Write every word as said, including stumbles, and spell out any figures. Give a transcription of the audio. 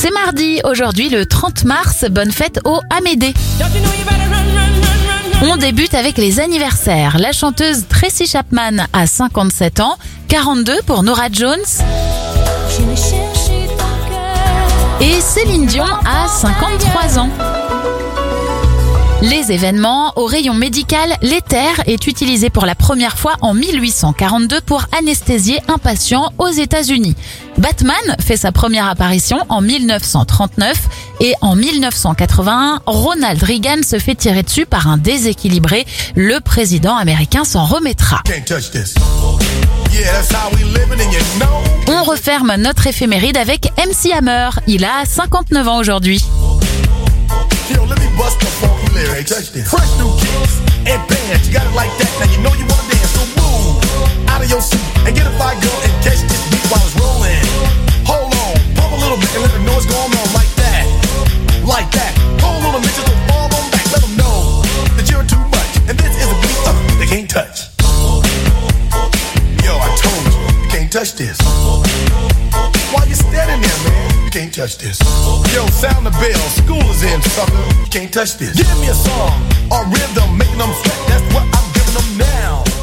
C'est mardi, aujourd'hui le trente mars, bonne fête aux Amédée. On débute avec les anniversaires. La chanteuse Tracy Chapman a cinquante-sept ans, quarante-deux pour Norah Jones. Et Céline Dion a cinquante-trois ans. Les événements, au rayon médical, l'éther est utilisé pour la première fois en mille huit cent quarante-deux pour anesthésier un patient aux États-Unis. Batman fait sa première apparition en mille neuf cent trente-neuf et en mille neuf cent quatre-vingt-un, Ronald Reagan se fait tirer dessus par un déséquilibré. Le président américain s'en remettra. On referme notre éphéméride avec M C Hammer. Il a cinquante-neuf ans aujourd'hui. Yo, let me bust the funky lyrics. Fresh new kicks and bands. You got it like that. Now you know you wanna dance. So move out of your seat and get a fire girl and catch this beat while it's rolling. Hold on, pump a little bit and let the noise go on like that, like that. Hold on a minute, just fall on back. Let them know that you're too much and this is a beat uh, they can't touch. Yo, I told you, you can't touch this. Why you standing there, man? You can't touch this. Yo, sound the bell, school is in, sucker. You can't touch this. Give me a song, a rhythm, making them sweat. That's what I'm giving them now.